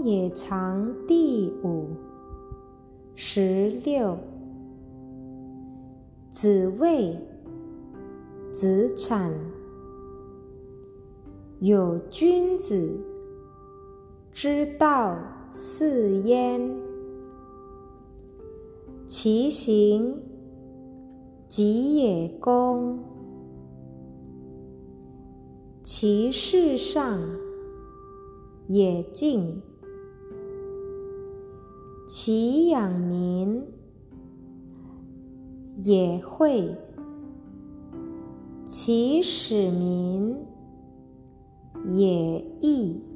也藏第五。16。子谓子产：有君子之道四焉，其行己也恭，其事上也敬，其养民也惠，其使民也义。